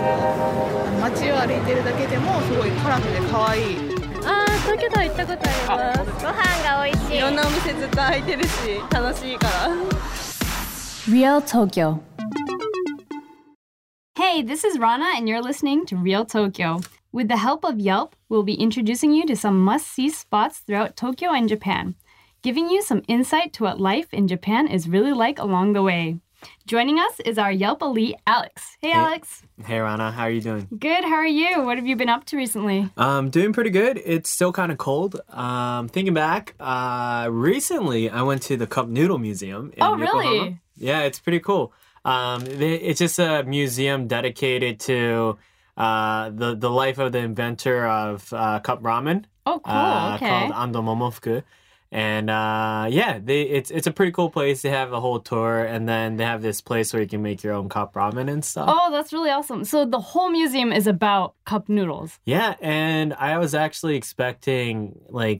街を歩いてるだけでもすごいカラフルで可愛い。 東京タワー行ったことあります。ご飯が美味しい。 いろんなお店ずっと開いてるし楽しいから。 Real Tokyo. Hey, this is Rana and you're listening to Real Tokyo. With the help of Yelp, we'll be introducing you to some must-see spots throughout Tokyo and Japan, giving you some insight to what life in Japan is really like along the way. Joining us is our Yelp elite, Alex. Hey, Alex. Hey, Rana. How are you doing? Good. How are you? What have you been up to recently? Doing pretty good. It's still kind of cold. Thinking back, recently I went to the Cup Noodle Museum in Yokohama. Really? Yeah, it's pretty cool. It's just a museum dedicated to the life of the inventor of cup ramen. Oh, cool. Okay. Called Ando Momofuku. And it's a pretty cool place. They have a whole tour, and then they have this place where you can make your own cup ramen and stuff. Oh, that's really awesome. So the whole museum is about cup noodles. Yeah, and I was actually expecting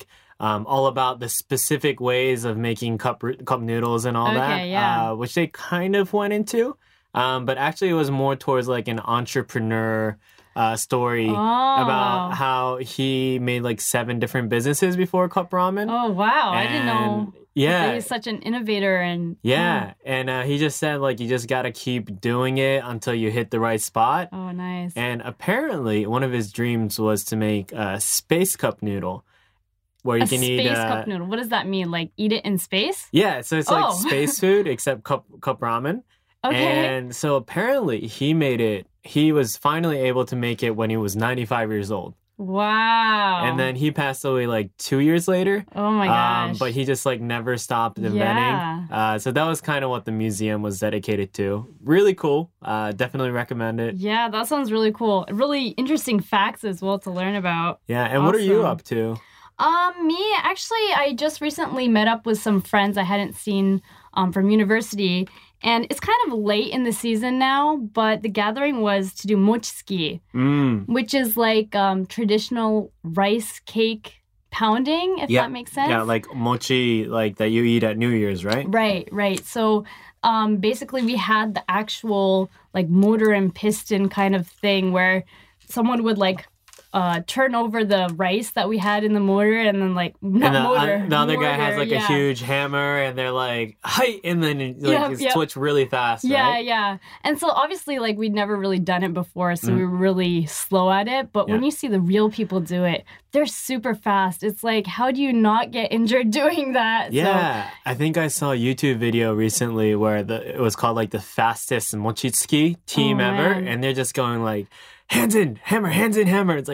all about the specific ways of making cup noodles and all that, yeah. Which they kind of went into. But actually it was more towards like an entrepreneur story about how he made 7 different businesses before cup ramen. Oh, wow. I didn't know. Yeah. He's such an innovator. And he just said you just got to keep doing it until you hit the right spot. Oh, nice. And apparently one of his dreams was to make a space cup noodle. Where you can eat space cup noodle. What does that mean? Like eat it in space? Yeah, so it's like space food except cup ramen. Okay. And so apparently he was finally able to make it when he was 95 years old. Wow. And then he passed away 2 years later. Oh my gosh. But he just never stopped inventing. Yeah. So that was kind of what the museum was dedicated to. Really cool. Definitely recommend it. Yeah, that sounds really cool. Really interesting facts as well to learn about. Yeah, and what are you up to? Actually, I just recently met up with some friends I hadn't seen from university. And it's kind of late in the season now, but the gathering was to do mochitsuki, which is traditional rice cake pounding, if that makes sense. Yeah, like mochi, that you eat at New Year's, right? Right. So basically we had the actual motor and piston kind of thing where someone would turn over the rice that we had in the mortar and then the other guy has a huge hammer and they're hi, and then switch really fast, right? Yeah. And so obviously we'd never really done it before, so we were really slow at it. But when you see the real people do it, they're super fast. It's how do you not get injured doing that? Yeah, so, I think I saw a YouTube video recently where it was called the fastest mochitsuki team ever, and they're just going hands in, hammer. It's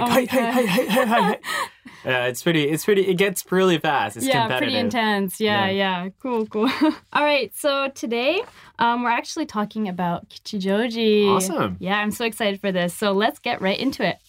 hi. Yeah, it's pretty, it gets really fast. It's competitive. Pretty intense. Yeah. Cool. All right, so today we're actually talking about Kichijoji. Awesome. Yeah, I'm so excited for this. So let's get right into it.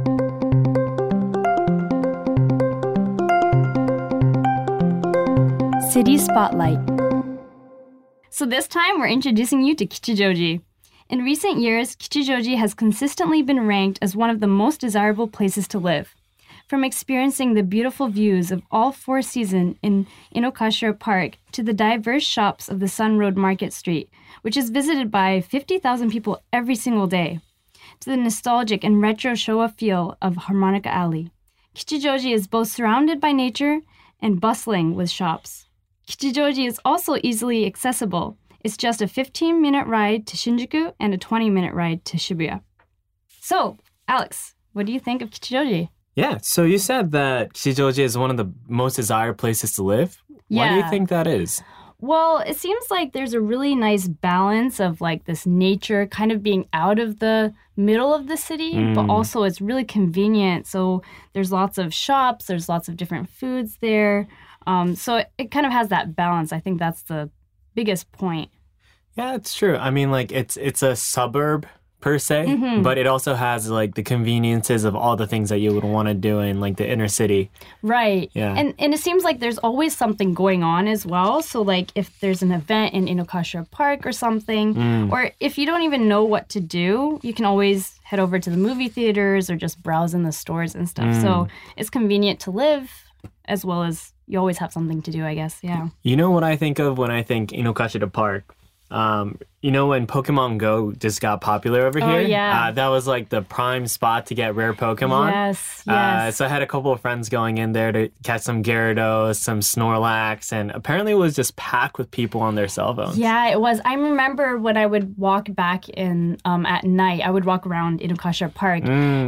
City Spotlight. So this time we're introducing you to Kichijoji. In recent years, Kichijoji has consistently been ranked as one of the most desirable places to live. From experiencing the beautiful views of all 4 seasons in Inokashira Park to the diverse shops of the Sun Road Market Street, which is visited by 50,000 people every single day, to the nostalgic and retro Showa feel of Harmonica Alley. Kichijoji is both surrounded by nature and bustling with shops. Kichijoji is also easily accessible. It's just a 15-minute ride to Shinjuku and a 20-minute ride to Shibuya. So, Alex, what do you think of Kichijoji? Yeah, so you said that Kichijoji is one of the most desired places to live. Yeah. Why do you think that is? Well, it seems like there's a really nice balance of this nature kind of being out of the middle of the city, but also it's really convenient. So there's lots of shops, there's lots of different foods there. So it kind of has that balance. I think that's the biggest point. Yeah, it's true. I mean, it's a suburb per se, but it also has the conveniences of all the things that you would want to do in the inner city. Right. Yeah. And it seems like there's always something going on as well. So if there's an event in Inokashira Park or something, or if you don't even know what to do, you can always head over to the movie theaters or just browse in the stores and stuff. So it's convenient to live as well as you always have something to do, I guess. Yeah. You know what I think of when I think Inokashira Park? You know when Pokemon Go just got popular over here? Yeah. That was like the prime spot to get rare Pokemon. Yes. So I had a couple of friends going in there to catch some Gyarados, some Snorlax, and apparently it was just packed with people on their cell phones. Yeah, it was. I remember when I would walk back in at night, I would walk around Inukasha Park,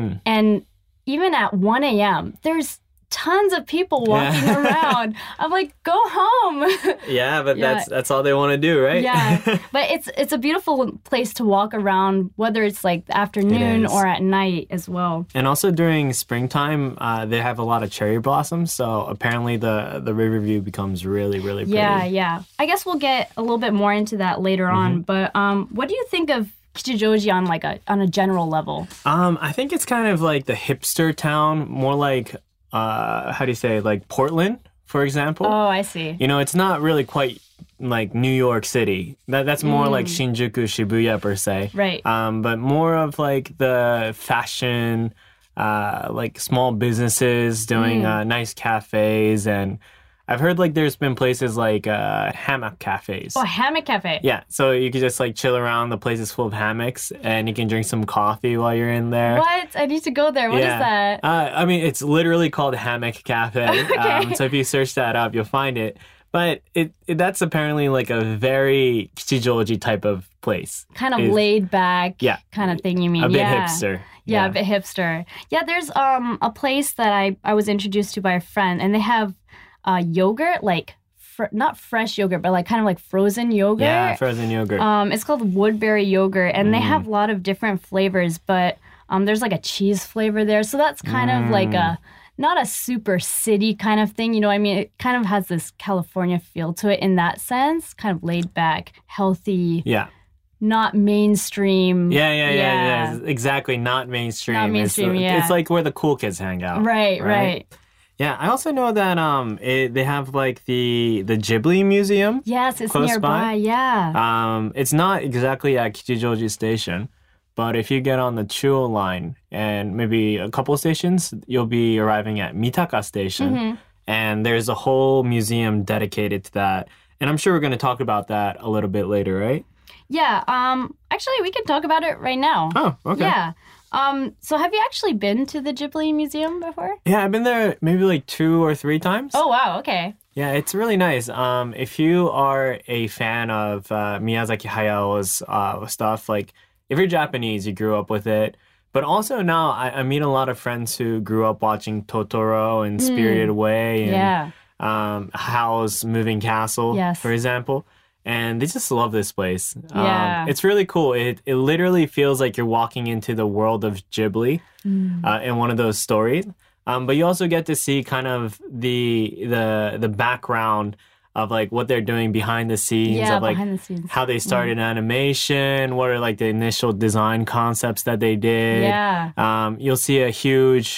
and even at 1 a.m., there's tons of people walking around. I'm like, go home. Yeah, but that's all they want to do, right? Yeah, but it's a beautiful place to walk around, whether it's like the afternoon or at night as well. And also during springtime, they have a lot of cherry blossoms, so apparently the river view becomes really, really pretty. Yeah. I guess we'll get a little bit more into that later on, but what do you think of Kichijoji on a general level? I think it's kind of like the hipster town, more like how do you say, like Portland, for example. Oh, I see. You know, it's not really quite like New York City. That's more like Shinjuku, Shibuya per se. Right. But more of like the fashion, like small businesses doing nice cafes, and I've heard like there's been places like hammock cafes. Oh, hammock cafe. Yeah, so you could just like chill around. The place is full of hammocks, and you can drink some coffee while you're in there. What? I need to go there. What is that? I mean, it's literally called Hammock Cafe. Okay. So if you search that up, you'll find it. But that's apparently like a very Kichijoji type of place. Kind of laid back kind of thing, you mean? A bit hipster. Yeah, a bit hipster. Yeah, there's a place that I was introduced to by a friend, and they have yogurt, like not fresh yogurt, but like kind of like frozen yogurt. Yeah, frozen yogurt. It's called Woodberry yogurt, and they have a lot of different flavors, but there's like a cheese flavor there. So that's kind of like not a super city kind of thing, you know what I mean? It kind of has this California feel to it in that sense, kind of laid back, healthy. Yeah. Not mainstream. Yeah. Exactly, not mainstream. Not mainstream, It's like where the cool kids hang out. Right. Yeah, I also know that they have like the Ghibli Museum. Yes, it's close nearby. by. Yeah. It's not exactly at Kichijoji Station, but if you get on the Chuo line and maybe a couple stations, you'll be arriving at Mitaka Station, and there's a whole museum dedicated to that. And I'm sure we're going to talk about that a little bit later, right? Yeah. Actually, we can talk about it right now. Oh, okay. Yeah. So have you actually been to the Ghibli Museum before? Yeah, I've been there maybe like 2 or 3 times. Oh, wow. Okay. Yeah, it's really nice. If you are a fan of Miyazaki Hayao's stuff, like if you're Japanese, you grew up with it. But also now I meet a lot of friends who grew up watching Totoro and Spirited Away and Howl's Moving Castle, for example. And they just love this place. Yeah. It's really cool. It literally feels like you're walking into the world of Ghibli in one of those stories. But you also get to see kind of the background of like what they're doing behind the scenes, of like behind the scenes. How they started animation, what are like the initial design concepts that they did. Yeah. You'll see a huge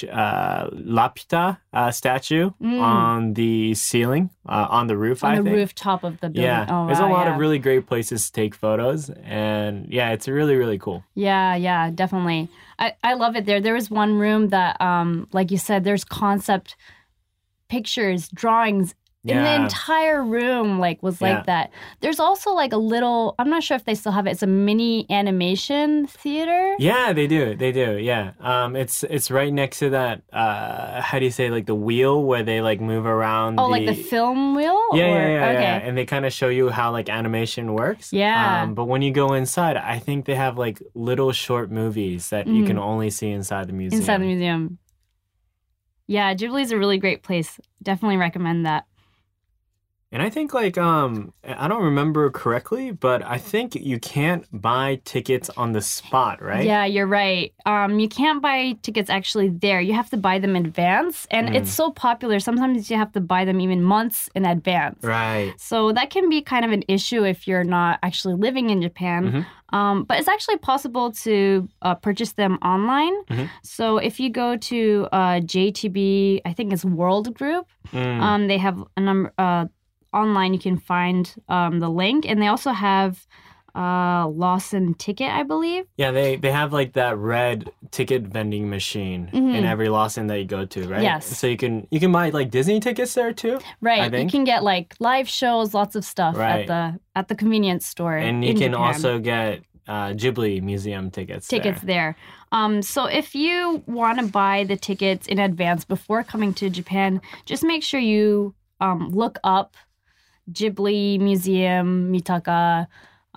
Lapita statue on the ceiling, on the roof, I think. On the rooftop of the building. Yeah. Oh, There's wow, a lot of really great places to take photos. And yeah, it's really, really cool. Yeah, definitely. I love it there. There was one room that, like you said, there's concept pictures, drawings in the entire room, like that. There's also like a little, I'm not sure if they still have it. It's a mini animation theater. Yeah, they do. Yeah. It's right next to that, how do you say, like the wheel where they like move around. Oh, like the film wheel? Yeah, Okay. yeah. And they kind of show you how like animation works. Yeah. But when you go inside, I think they have like little short movies that you can only see inside the museum. Inside the museum. Yeah, Ghibli is a really great place. Definitely recommend that. And I think like, I don't remember correctly, but I think you can't buy tickets on the spot, right? Yeah, you're right. You can't buy tickets actually there. You have to buy them in advance. And it's so popular. Sometimes you have to buy them even months in advance. Right. So that can be kind of an issue if you're not actually living in Japan. But it's actually possible to purchase them online. So if you go to JTB, I think it's World Group, they have a number... online you can find the link, and they also have Lawson ticket, I believe. Yeah, they have like that red ticket vending machine in every Lawson that you go to, right? Yes. So you can buy like Disney tickets there too. Right. I think. You can get like live shows, lots of stuff Right. at the convenience store. And you in can Japan. also get Ghibli museum tickets. There. So if you want to buy the tickets in advance before coming to Japan, just make sure you look up Ghibli Museum, Mitaka.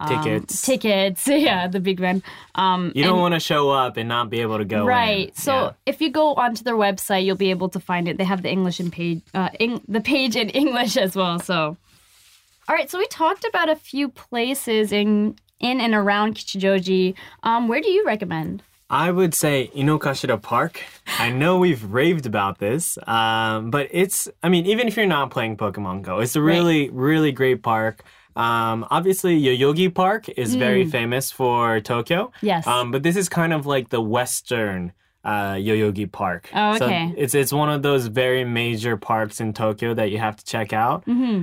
Tickets, yeah, the big one. You don't want to show up and not be able to go right. in. So if you go onto their website, you'll be able to find it. They have the English and the page in English as well. So, all right. So we talked about a few places in and around Kichijoji. Where do you recommend? I would say Inokashira Park. I know we've raved about this, but even if you're not playing Pokemon Go, it's a really, really great park. Obviously, Yoyogi Park is very famous for Tokyo. Yes. But this is kind of like the Western Yoyogi Park. Oh, okay. So it's one of those very major parks in Tokyo that you have to check out.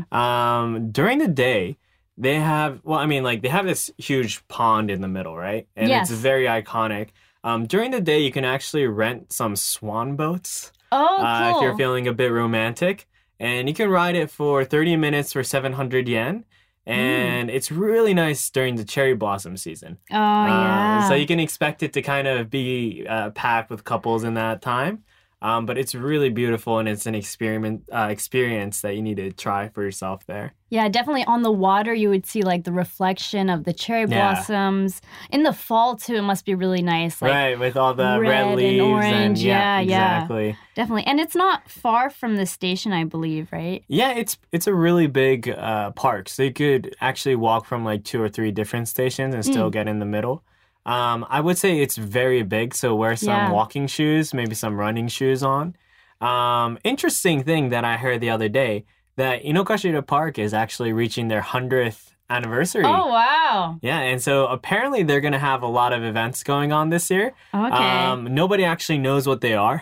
During the day, they have this huge pond in the middle, right? And Yes. it's very iconic. During the day, you can actually rent some swan boats. Oh, cool. If you're feeling a bit romantic. And you can ride it for 30 minutes for 700 yen. And it's really nice during the cherry blossom season. Oh, yeah. So you can expect it to kind of be packed with couples in that time. But it's really beautiful, and it's an experience that you need to try for yourself there. Yeah, definitely on the water, you would see like the reflection of the cherry blossoms. In the fall, too, it must be really nice. Like, right, with all the red leaves. and orange. Yeah, exactly. Definitely. And it's not far from the station, I believe, right? Yeah, it's a really big park. So you could actually walk from like 2 or 3 different stations and still get in the middle. I would say it's very big, so wear some walking shoes, maybe some running shoes on. Interesting thing that I heard the other day, that Inokashira Park is actually reaching their 100th anniversary. Oh, wow. Yeah, and so apparently they're going to have a lot of events going on this year. Okay. Nobody actually knows what they are.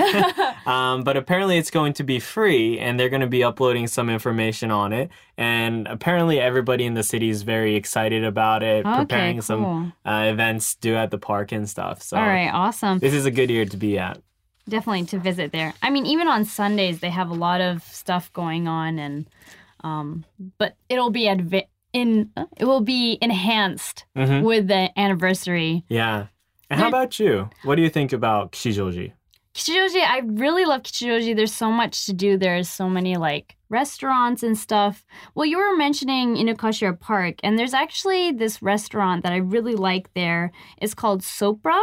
But apparently it's going to be free, and they're going to be uploading some information on it. And apparently everybody in the city is very excited about it, preparing some events due at the park and stuff. So all right, awesome. This is a good year to be at. Definitely to visit there. I mean, even on Sundays, they have a lot of stuff going on, and but it'll be enhanced with the anniversary. Yeah. And how about you? What do you think about Kichijoji? Kichijoji, I really love Kichijoji. There's so much to do. There's so many like restaurants and stuff. Well, you were mentioning Inokashira Park, and there's actually this restaurant that I really like there. It's called Sopra,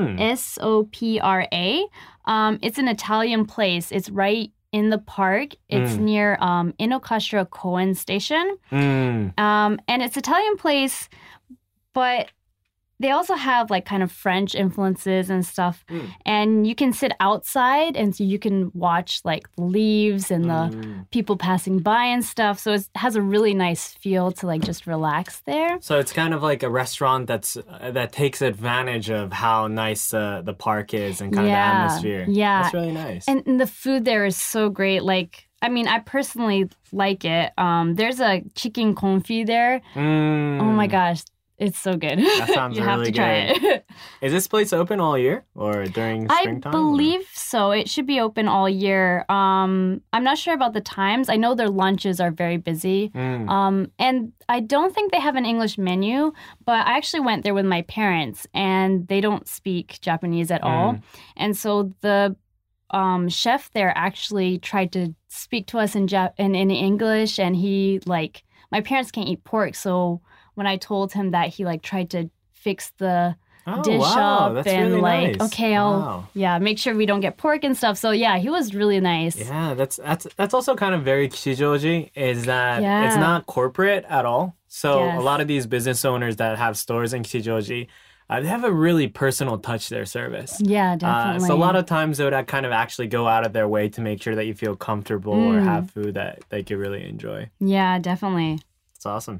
S-O-P-R-A. It's an Italian place. It's right in the park. It's near Inokashira Koen Station. And it's Italian place, but they also have like kind of French influences and stuff. And you can sit outside, and so you can watch like the leaves and the people passing by and stuff. So it has a really nice feel to like just relax there. So it's kind of like a restaurant that takes advantage of how nice the park is and kind of the atmosphere. Yeah. That's really nice. And the food there is so great. Like, I mean, I personally like it. There's a chicken confit there. Oh my gosh. It's so good. That sounds you really have to try good. it. Is this place open all year or during springtime? I believe so. It should be open all year. I'm not sure about the times. I know their lunches are very busy. And I don't think they have an English menu, but I actually went there with my parents, and they don't speak Japanese at all. And so the chef there actually tried to speak to us in English, and he like, my parents can't eat pork, so when I told him that, he like tried to fix the dish up that's and really like, nice. okay, I'll make sure we don't get pork and stuff. So yeah, he was really nice. Yeah, that's also kind of very Kichijoji, is that it's not corporate at all. So a lot of these business owners that have stores in Kichijoji, they have a really personal touch to their service. Yeah, definitely. So a lot of times they would kind of actually go out of their way to make sure that you feel comfortable or have food that they could really enjoy. Yeah, definitely. It's awesome.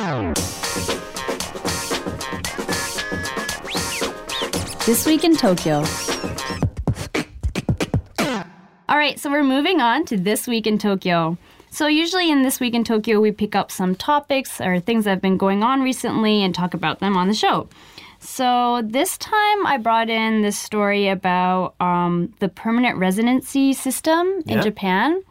This Week in Tokyo. All right, so we're moving on to This Week in Tokyo. So usually in This Week in Tokyo, we pick up some topics or things that have been going on recently and talk about them on the show. So this time I brought in this story about the permanent residency system in Japan.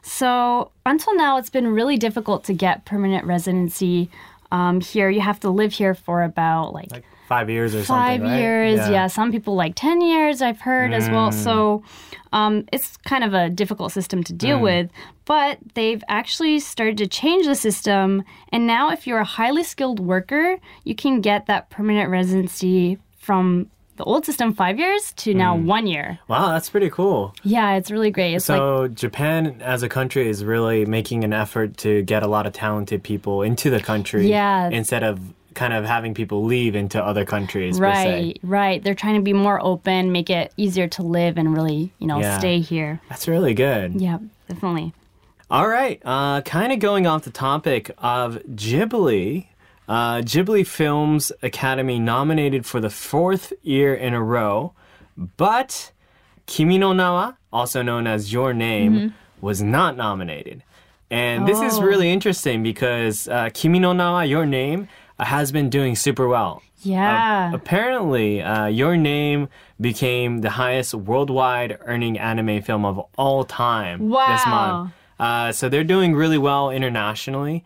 So until now, it's been really difficult to get permanent residency here. You have to live here for about like 5 years or something, 5 right? years, yeah. Some people like 10 years, I've heard as well. So it's kind of a difficult system to deal with. But they've actually started to change the system. And now if you're a highly skilled worker, you can get that permanent residency from the old system 5 years to now 1 year. Wow, that's pretty cool. Yeah, it's really great. It's So Japan as a country is really making an effort to get a lot of talented people into the country instead of kind of having people leave into other countries, per se. Right. They're trying to be more open, make it easier to live and really, stay here. That's really good. Yeah, definitely. All right. Kind of going off the topic of Ghibli. Ghibli Films Academy nominated for the 4th year in a row, but Kimi no Na wa, also known as Your Name, was not nominated. And this is really interesting because Kimi no Na wa, Your Name, has been doing super well. Yeah. Apparently, Your Name became the highest worldwide earning anime film of all time this month. So they're doing really well internationally.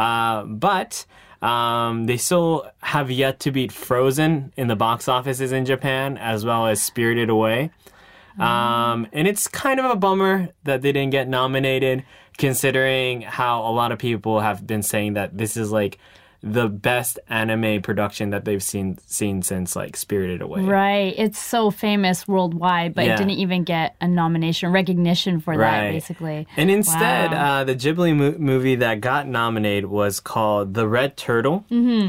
But they still have yet to beat Frozen in the box offices in Japan, as well as Spirited Away. And it's kind of a bummer that they didn't get nominated, considering how a lot of people have been saying that this is like the best anime production that they've seen since like Spirited Away. Right. It's so famous worldwide, but it didn't even get a nomination, recognition for that, basically. And instead, the Ghibli movie that got nominated was called The Red Turtle.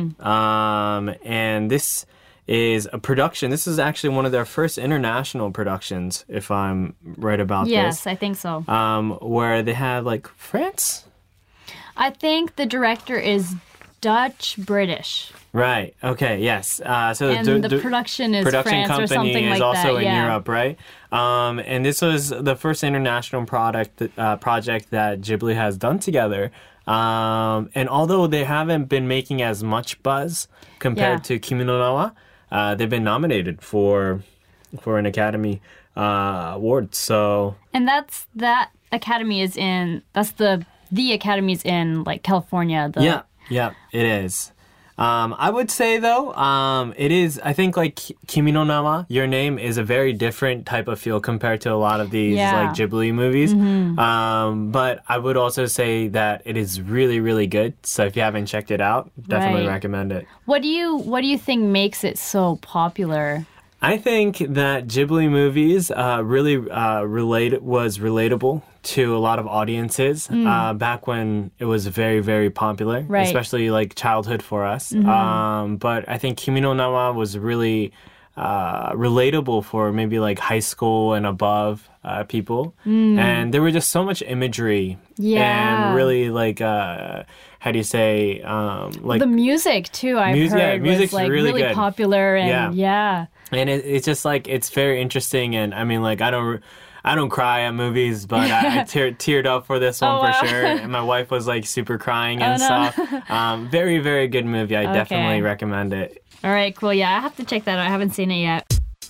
And this is a production. This is actually one of their first international productions, if I'm right about this. Yes, I think so. Where they had like France? I think the director is Dutch-British. Right. Okay. Yes. So and the production is France company or something is like also that. in Europe, right? And this was the first international project that Ghibli has done together. And although they haven't been making as much buzz compared to Kimi no Na wa, they've been nominated for an Academy award. So and that Academy is in the Academy is in like California. Yeah, it is. I would say, though, it is, I think, like, Kimi no Na wa, Your Name, is a very different type of feel compared to a lot of these, like, Ghibli movies. But I would also say that it is really, really good. So if you haven't checked it out, definitely recommend it. What do you think makes it so popular? I think that Ghibli movies really was relatable to a lot of audiences back when it was very, very popular, especially like childhood for us. But I think Kimi no Na wa was really relatable for maybe like high school and above people. And there were just so much imagery and really like how do you say like the music too. I've heard was like really good. Popular and and it's just like it's very interesting. And I mean, like I don't cry at movies, but I teared up for this one for sure. And my wife was like super crying and stuff. Very, very good movie. I definitely recommend it. All right, cool. Yeah, I have to check that out. I haven't seen it yet.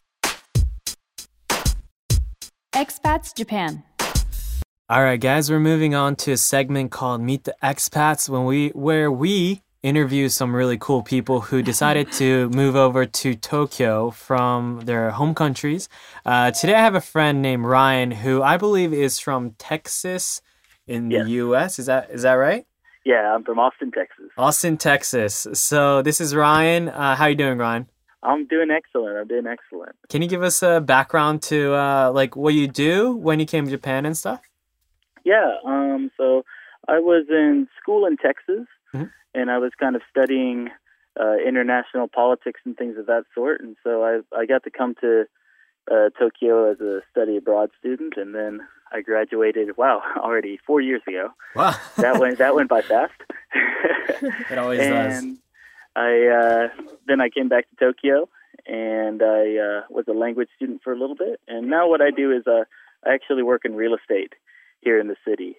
Expats Japan. All right, guys, we're moving on to a segment called Meet the Expats, where we interview some really cool people who decided to move over to Tokyo from their home countries. Today I have a friend named Ryan who I believe is from Texas in the U.S. Is that right? Yeah, I'm from Austin, Texas. Austin, Texas. So this is Ryan. How you doing, Ryan? I'm doing excellent. Can you give us a background to like what you do when you came to Japan and stuff? Yeah, so I was in school in Texas, and I was kind of studying international politics and things of that sort. And so I got to come to Tokyo as a study abroad student, and then I graduated. Wow, already 4 years ago. Wow, that went by fast. It always does. Then I came back to Tokyo, and I was a language student for a little bit. And now what I do is I actually work in real estate here in the city.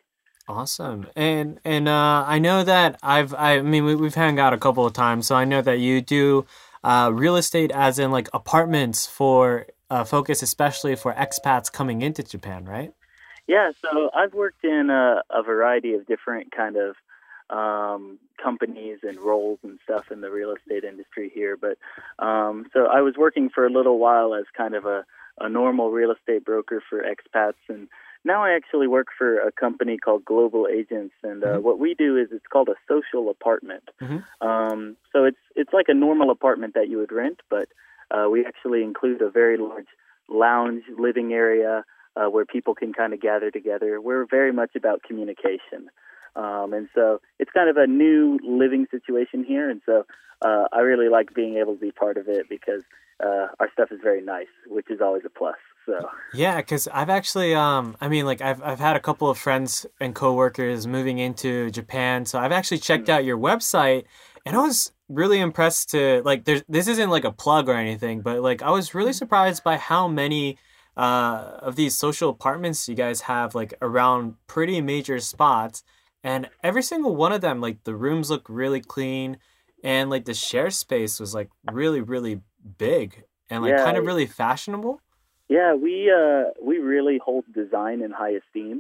Awesome. And I know that we've hung out a couple of times, so I know that you do real estate as in like apartments for focus, especially for expats coming into Japan, right? Yeah, so I've worked in a variety of different kind of companies and roles and stuff in the real estate industry here. But so I was working for a little while as kind of a normal real estate broker for expats, and now I actually work for a company called Global Agents, and what we do is it's called a social apartment. So it's like a normal apartment that you would rent, but we actually include a very large lounge living area where people can kind of gather together. We're very much about communication. And so it's kind of a new living situation here. And so I really like being able to be part of it because our stuff is very nice, which is always a plus. So yeah, because I've actually, I've had a couple of friends and coworkers moving into Japan. So I've actually checked out your website, and I was really impressed to this isn't like a plug or anything, but like I was really surprised by how many of these social apartments you guys have like around pretty major spots. And every single one of them, like the rooms look really clean, and like the share space was like really, really big and like kind of really fashionable. Yeah, we really hold design in high esteem,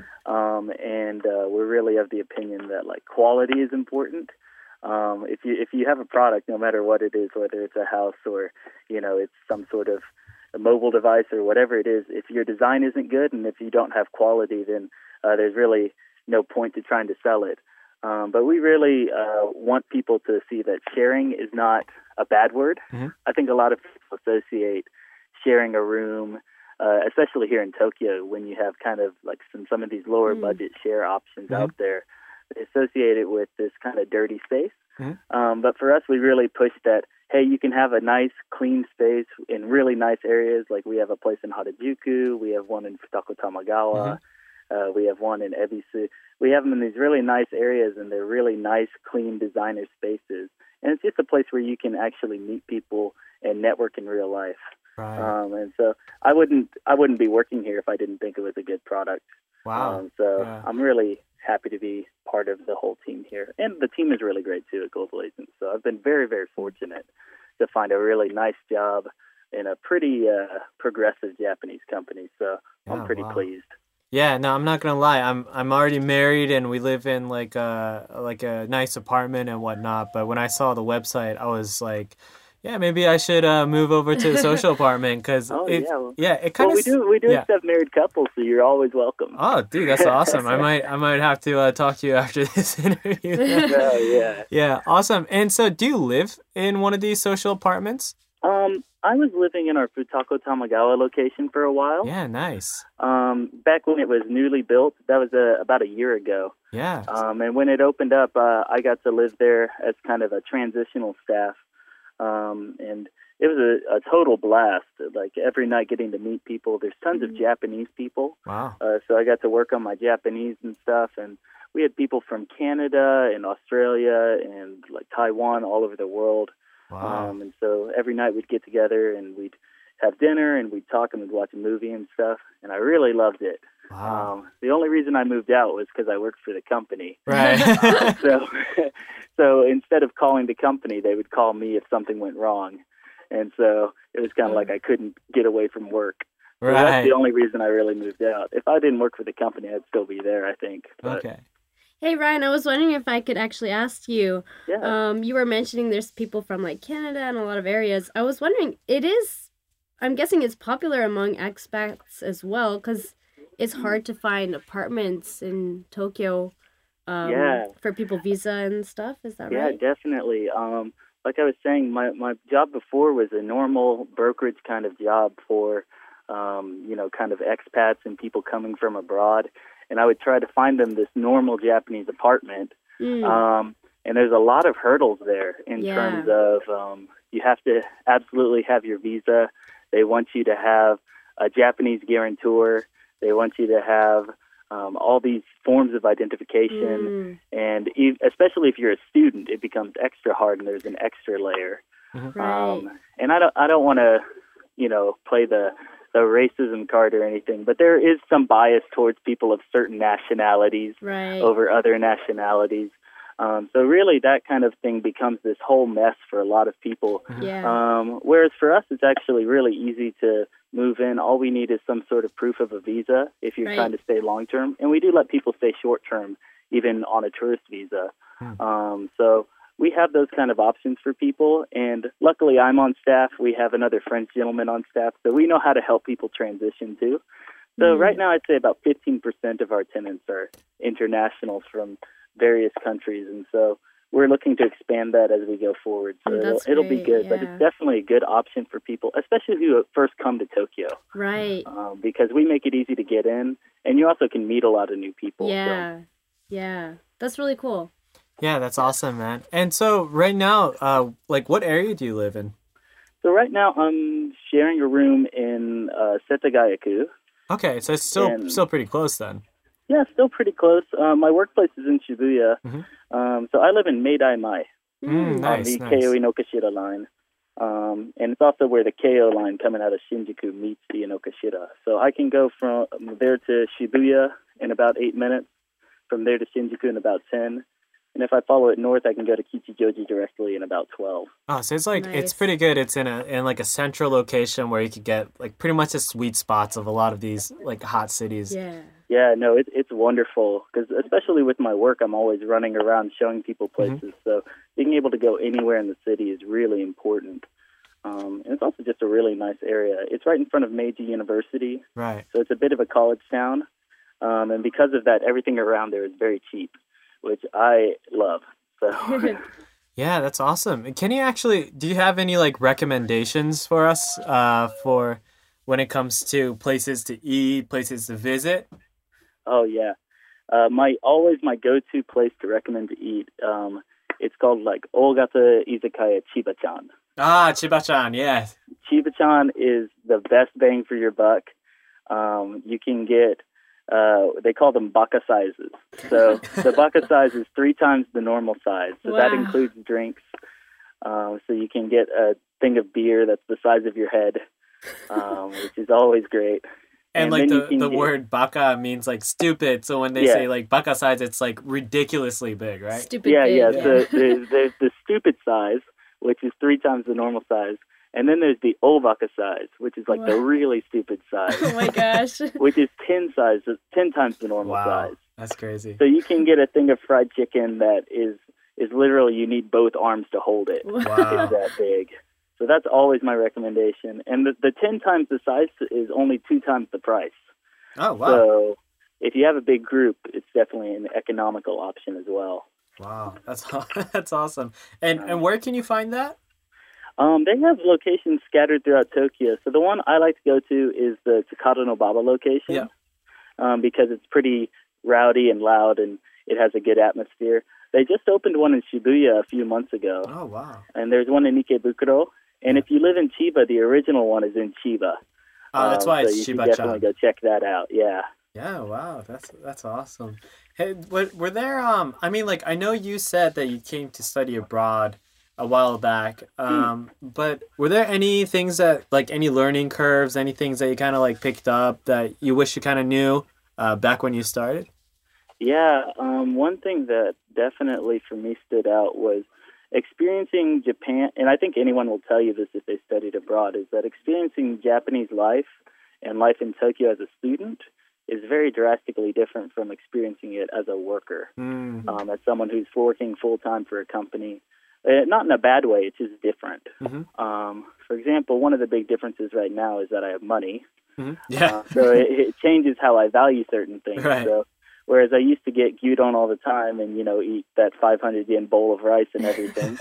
and we're really of the opinion that like quality is important. If you have a product, no matter what it is, whether it's a house or it's some sort of a mobile device or whatever it is, if your design isn't good and if you don't have quality, then there's really no point to trying to sell it. But we really want people to see that sharing is not a bad word. I think a lot of people associate sharing a room, especially here in Tokyo, when you have kind of like some of these lower budget share options out there, they associate it with this kind of dirty space. But for us, we really push that, hey, you can have a nice, clean space in really nice areas. Like we have a place in Harajuku, we have one in Futako Tamagawa, we have one in Ebisu. We have them in these really nice areas, and they're really nice, clean designer spaces. And it's just a place where you can actually meet people and network in real life. Right. And so I wouldn't be working here if I didn't think it was a good product. Wow. I'm really happy to be part of the whole team here. And the team is really great too at Global Agents. So I've been very, very fortunate to find a really nice job in a pretty progressive Japanese company. So I'm pretty pleased. Yeah, no, I'm not gonna lie. I'm already married, and we live in like a nice apartment and whatnot. But when I saw the website, I was like, yeah, maybe I should move over to the social apartment because it kind of we do accept married couples, so you're always welcome. Oh, dude, that's awesome. I might have to talk to you after this interview. Yeah, awesome. And so, do you live in one of these social apartments? I was living in our Futako Tamagawa location for a while. Yeah, nice. Back when it was newly built, that was about a year ago. Yeah. And when it opened up, I got to live there as kind of a transitional staff. And it was a total blast. Like every night getting to meet people. There's tons of Japanese people. Wow. So I got to work on my Japanese and stuff. And we had people from Canada and Australia and like Taiwan, all over the world. Wow. And so every night we'd get together and we'd have dinner and we'd talk and we'd watch a movie and stuff. And I really loved it. Wow. The only reason I moved out was because I worked for the company. Right. So instead of calling the company, they would call me if something went wrong. And so it was kind of like I couldn't get away from work. So that's the only reason I really moved out. If I didn't work for the company, I'd still be there, I think. But, okay. Hey, Ryan, I was wondering if I could actually ask you. Yeah. You were mentioning there's people from like Canada and a lot of areas. I was wondering, I'm guessing it's popular among expats as well because it's hard to find apartments in Tokyo for people visa and stuff. Is that right? Yeah, definitely. Like I was saying, my job before was a normal brokerage kind of job for, kind of expats and people coming from abroad. And I would try to find them this normal Japanese apartment. And there's a lot of hurdles there in terms of you have to absolutely have your visa. They want you to have a Japanese guarantor. They want you to have all these forms of identification. And especially if you're a student, it becomes extra hard and there's an extra layer. Right. And I don't want to, play the a racism card or anything, but there is some bias towards people of certain nationalities Right. over other nationalities. So really that kind of thing becomes this whole mess for a lot of people. Yeah. Whereas for us, it's actually really easy to move in. All we need is some sort of proof of a visa if you're Right. trying to stay long-term. And we do let people stay short-term, even on a tourist visa. So we have those kind of options for people. And luckily, I'm on staff. We have another French gentleman on staff. So we know how to help people transition, too. So right now, I'd say about 15% of our tenants are internationals from various countries. And so we're looking to expand that as we go forward. So That's it'll be great, good. But yeah. it's definitely a good option for people, especially who first come to Tokyo, Right. because we make it easy to get in. And you also can meet a lot of new people. So. Yeah. Yeah. That's really cool. Yeah, that's awesome, man. And so right now, like, what area do you live in? So right now I'm sharing a room in Setagayaku. Okay, so it's And- still pretty close then. Yeah, still pretty close. My workplace is in Shibuya. So I live in Meidai Mai on Nice, the nice. Keio Inokashira line. And it's also where the Keio line coming out of Shinjuku meets the Inokashira. So I can go from there to Shibuya in about 8 minutes, from there to Shinjuku in about 10. And if I follow it north, I can go to Kichijoji directly in about 12. Oh, so it's like Nice. it's pretty good. It's in like a central location where you could get like pretty much the sweet spots of a lot of these like hot cities. Yeah. Yeah, no, it's wonderful because especially with my work, I'm always running around showing people places. So being able to go anywhere in the city is really important. And it's also just a really nice area. It's right in front of Meiji University, Right. so it's a bit of a college town. And because of that, everything around there is very cheap, which I love. So Yeah, that's awesome. And can you actually do you have any like recommendations for us for when it comes to places to eat, places to visit? Oh yeah, my go-to place to recommend to eat. It's called like Ogata Izakaya Chiba-chan. Ah, Chiba-chan, yes. Chiba-chan is the best bang for your buck. You can get they call them baka sizes. So the baka size is 3 times the normal size. So that Wow. includes drinks. So you can get a thing of beer that's the size of your head, which is always great. And like then you can the get- word baka means like stupid. So when they Yeah. say like baka size, it's like ridiculously big, right? Stupid Yeah, big. yeah. So there's the stupid size, which is 3 times the normal size. And then there's the obaka size, which is like the really stupid size, Oh my gosh. which is 10 times the normal Wow, size. that's crazy. So you can get a thing of fried chicken that is literally you need both arms to hold it. Wow. It's that big. So that's always my recommendation. And the 10 times the size is only 2 times the price. Oh wow, So if you have a big group, it's definitely an economical option as well. wow, that's that's awesome. And where can you find that? They have locations scattered throughout Tokyo. So the one I like to go to is the Takata no Baba location. Yeah. Because it's pretty rowdy and loud and it has a good atmosphere. They just opened one in Shibuya a few months ago. Oh wow. And there's one in Ikebukuro. And if you live in Chiba, the original one is in Chiba. Oh, that's why so it's you should Chiba-chan. definitely go check that out. Yeah. Yeah, wow, that's awesome. Hey, were there I mean, like I know you said that you came to study abroad a while back, but were there any things that like any learning curves, any things that you kind of like picked up that you wish you kind of knew back when you started? Yeah, one thing that definitely for me stood out was experiencing Japan, and I think anyone will tell you this if they studied abroad, is that experiencing Japanese life and life in Tokyo as a student is very drastically different from experiencing it as a worker, as someone who's working full-time for a company. Not in a bad way, it's just different. For example, one of the big differences right now is that I have money. Yeah. So it changes how I value certain things. Right. So, whereas I used to get gyudon all the time and, eat that 500 yen bowl of rice and everything,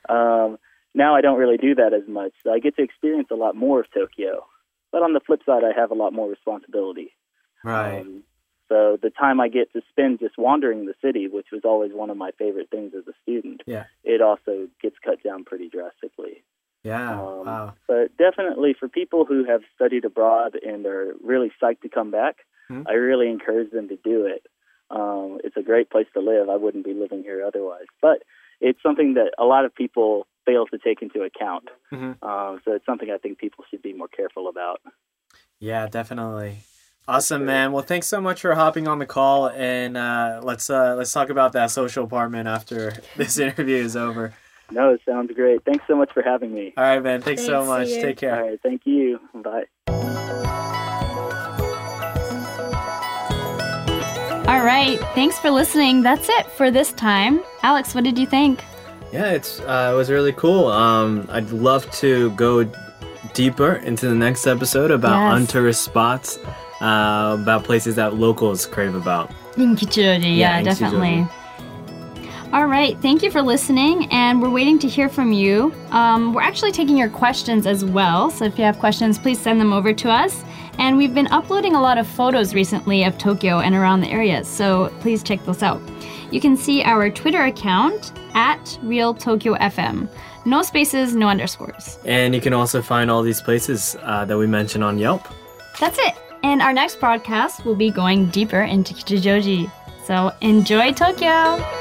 now I don't really do that as much. So I get to experience a lot more of Tokyo. But on the flip side, I have a lot more responsibility. Right. So the time I get to spend just wandering the city, which was always one of my favorite things as a student, Yeah. it also gets cut down pretty drastically. Yeah. Wow. But definitely for people who have studied abroad and are really psyched to come back, I really encourage them to do it. It's a great place to live. I wouldn't be living here otherwise. But it's something that a lot of people fail to take into account. So it's something I think people should be more careful about. Yeah, definitely. Awesome, man. Well, thanks so much for hopping on the call, and let's talk about that social apartment after this interview is over. No, it sounds great. Thanks so much for having me. All right, man. Thanks so much. Take care. All right, thank you. Bye. All right, thanks for listening. That's it for this time. Alex, what did you think? Yeah, it was really cool. I'd love to go deeper into the next episode about untourist spots, about places that locals crave about. In Kichijoji, yeah, definitely. All right, thank you for listening, and we're waiting to hear from you. We're actually taking your questions as well, so if you have questions, please send them over to us. And we've been uploading a lot of photos recently of Tokyo and around the area, so please check those out. You can see our Twitter account at RealTokyoFM. No spaces, no underscores. And you can also find all these places that we mentioned on Yelp. That's it. And our next broadcast will be going deeper into Kichijoji. So enjoy Tokyo!